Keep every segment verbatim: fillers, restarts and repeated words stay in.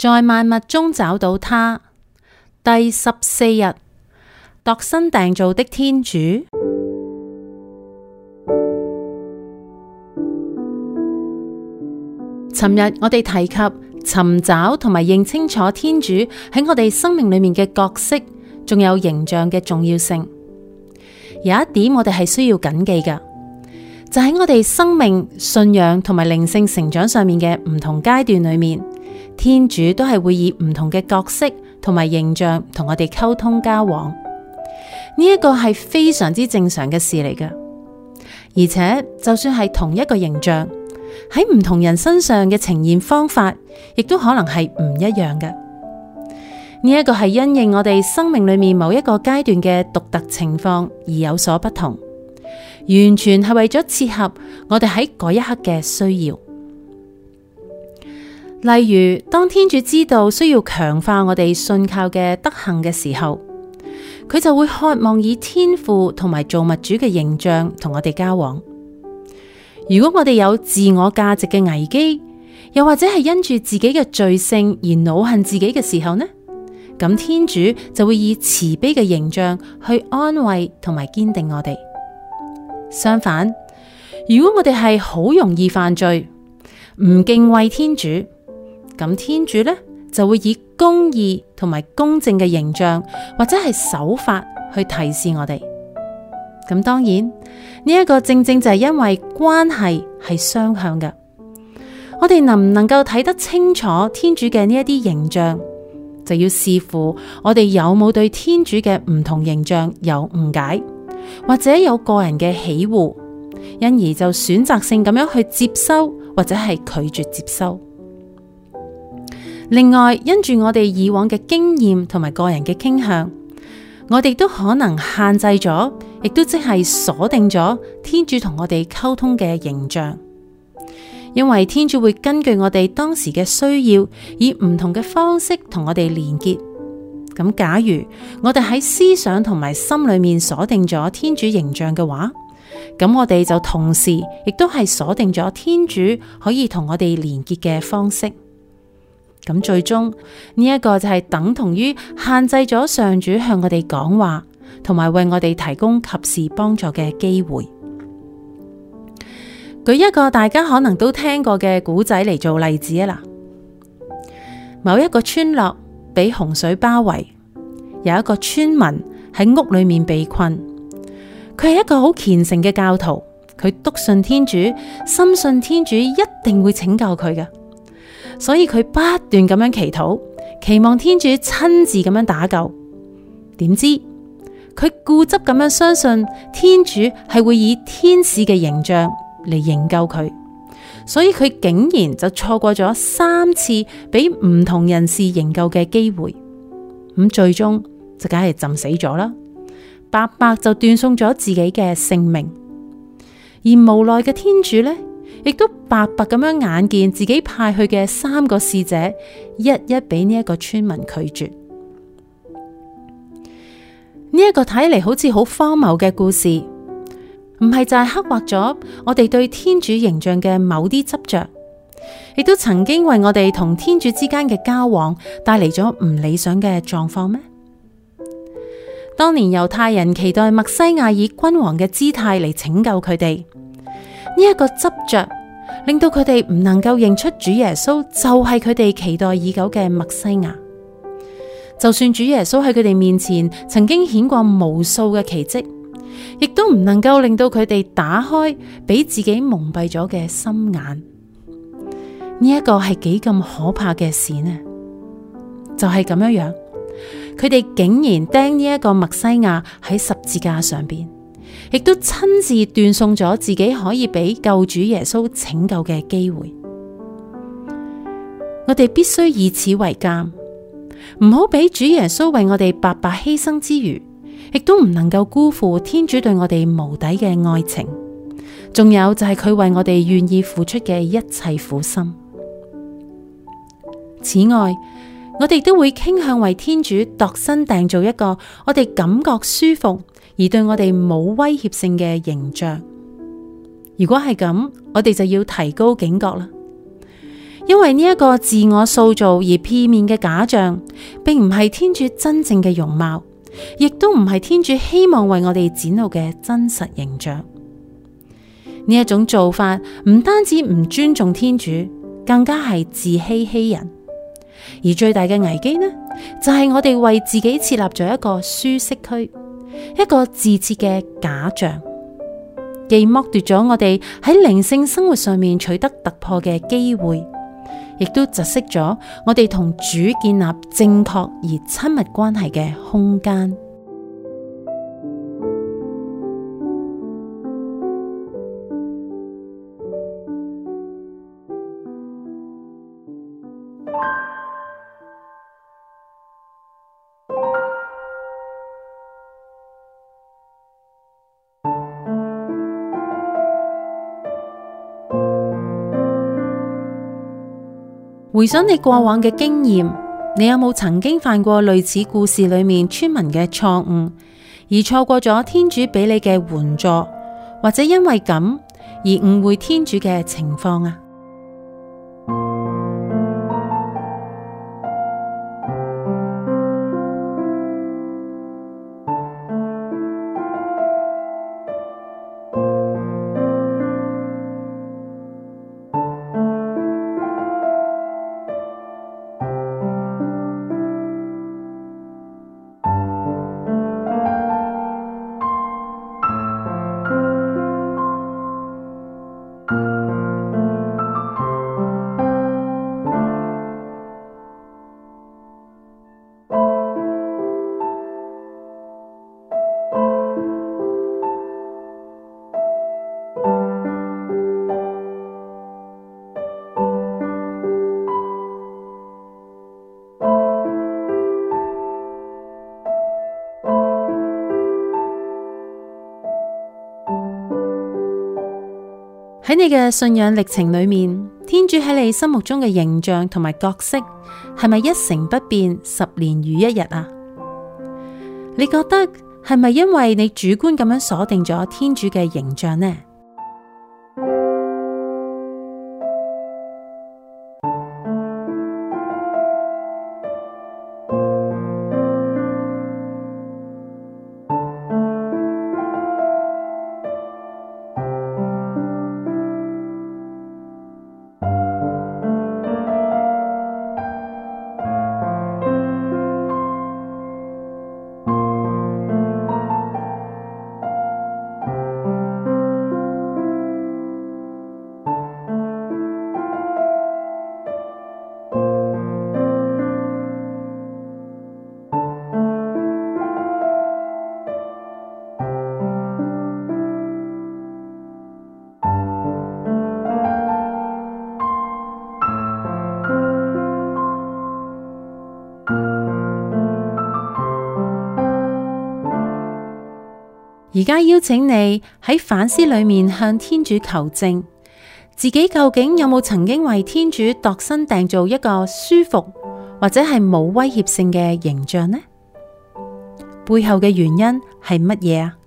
在萬物中找到他。第十四日，度身訂造的天主。尋日我哋提及尋找同埋認清楚天主喺我哋生命裏面嘅角色，仲有形象嘅重要性。有一點我哋係需要謹記嘅，就喺我哋生命、信仰同埋靈性成長上面嘅唔同階段裏面，天主都係會以唔同嘅角色同埋形象同我哋溝通交往。呢一個係非常之正常嘅事嚟嘅，而且就算係同一個形象，喺唔同人身上嘅呈現方法，亦都可能係唔一樣嘅。呢一個係因應我哋生命裏面某一個階段嘅獨特情況而有所不同，完全係為咗切合我哋喺嗰一刻嘅需要。例如，當天主知道需要強化我哋信靠嘅德行嘅時候，佢就會渴望以天父同埋造物主嘅形象同我哋交往。如果我哋有自我價值嘅危機，又或者係因住自己嘅罪性而惱恨自己嘅時候呢，咁天主就會以慈悲嘅形象去安慰同埋堅定我哋。相反，如果我哋係好容易犯罪，唔敬畏天主，咁天主呢就會以公義同埋公正嘅形象或者係手法去提示我哋。咁當然呢一個正正就係因為關係係雙向嘅，我哋能唔能夠睇得清楚天主嘅呢一啲形象，就要視乎我哋有冇對天主嘅唔同形象有誤解，或者有個人嘅喜惡，因而就選擇性咁樣去接收或者係拒絕接收。另外，因住我哋以往嘅經驗同埋個人嘅傾向，我哋都可能限制咗，亦都即係鎖定咗天主同我哋溝通嘅形象。因為天主會根據我哋當時嘅需要，以唔同嘅方式同我哋連結。咁假如我哋喺思想同埋心裏面鎖定咗天主形象嘅話，咁我哋就同時亦都係鎖定咗天主可以同我哋連結嘅方式。咁最終呢一個就係等同於限制咗上主向我哋講話，同埋為我哋提供及時幫助嘅機會。舉一個大家可能都聽過嘅古仔嚟做例子啊啦。某一個村落被洪水包圍，有一個村民喺屋裏面被困。佢係一個好虔誠嘅教徒，佢篤信天主，深信天主一定會拯救佢嘅。所以佢不斷咁樣祈禱，期望天主親自咁樣打救。點知佢固執咁樣相信天主係會以天使嘅形象嚟營救佢，所以佢竟然就錯過咗三次俾唔同人士營救嘅機會。咁最終就梗係浸死咗啦，白白就斷送咗自己嘅性命。而無奈嘅天主呢，亦都白白咁樣眼見自己派去嘅三個使者，一一俾呢一個村民拒絕。呢一個睇嚟好似好荒謬嘅故事，唔係就係刻畫咗我哋對天主形象嘅某啲執着，亦都曾經為我哋同天主之間嘅交往帶嚟咗唔理想嘅狀況咩？當年猶太人期待默西亞以君王嘅姿態嚟拯救佢哋。呢一個執着令到佢哋唔能夠認出主耶穌就係佢哋期待已久嘅默西亞。就算主耶穌喺佢哋面前曾經顯過無數嘅奇蹟，亦都唔能夠令到佢哋打開俾自己蒙蔽咗嘅心眼。呢一個係幾咁可怕嘅事呢？就係咁樣樣，佢哋竟然釘呢一個默西亞喺十字架上邊，亦都親自斷送咗自己可以俾救主耶穌拯救嘅機會。我哋必須以此為鑑，唔好俾主耶穌為我哋白白犧牲之餘，亦都唔能夠辜負天主對我哋無底嘅愛情。仲有就係佢為我哋願意付出嘅一切苦心。此外，我哋都會傾向為天主度身訂造一個我哋感覺舒服而對我哋冇威脅性嘅形象。如果係咁，我哋就要提高警覺啦。 因為呢一個自我塑造而片面嘅假象，並唔係天主真正嘅容貌，亦都唔係天主希望為我哋展露嘅真實形象。呢一種做法唔單止唔尊重天主，更加係自欺欺人。而最大嘅危機呢，就係我哋為自己設立咗一個舒適區，一個自設嘅假象，既剝奪咗我哋喺靈性生活上面取得突破嘅機會，亦都窒息咗我哋同主建立正確而親密關係嘅空間。回想你過往嘅經驗，你有冇曾經犯過類似故事裏面村民嘅錯誤，而錯過咗天主俾你嘅援助，或者因為咁而誤會天主嘅情況啊？喺你嘅信仰歷程裏面，天主喺你心目中嘅形象同埋角色係咪一成不變，十年如一日啊？你覺得係咪因為你主觀咁樣鎖定咗天主嘅形象呢？而家邀請你喺反思裏面向天主求證，自己究竟有冇曾經為天主度身訂造一個舒服或者係冇威脅性嘅形象呢？背後嘅原因係乜嘢啊？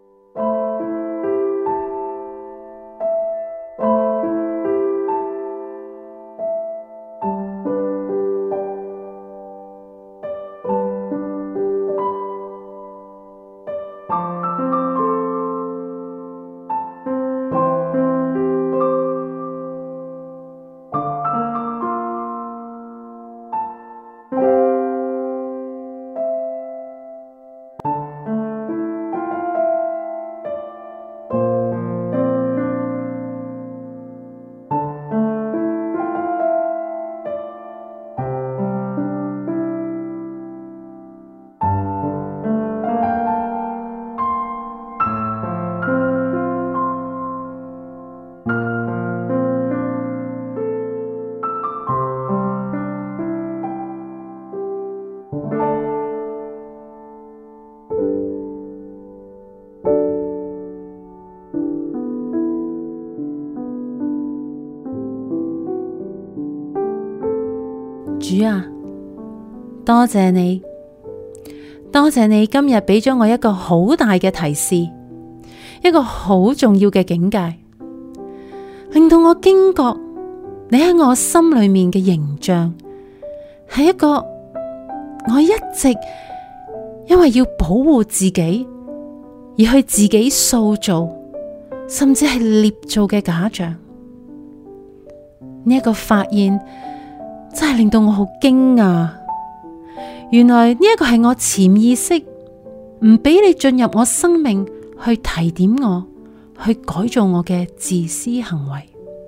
主啊，多謝你，多謝你今日俾咗我一個好大嘅提示，一個好重要嘅境界，令到我驚覺你喺我心裏面嘅形象，係一個我一直因為要保護自己而去自己塑造，甚至係捏造嘅假象。呢一個發現真係令到我好驚訝，原來呢一個係我潛意識唔俾你進入我生命去提點我，去改造我嘅自私行為。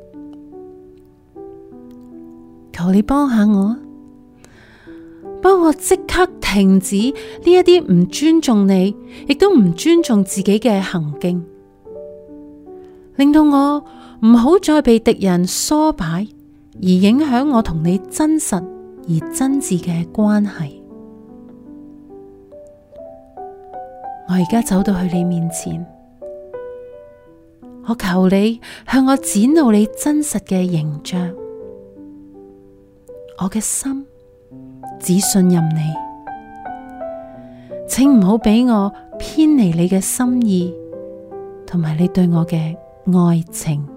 求你幫下我，幫我即刻停止呢一啲唔尊重你，亦都唔尊重自己嘅行徑，令到我唔好再被敵人唆擺，而影響我同你真實而真摯嘅關係。我而家走到去你面前，我求你向我展露你真實嘅形象。我嘅心只信任你，請唔好俾我偏離你嘅心意，同埋你對我嘅愛情。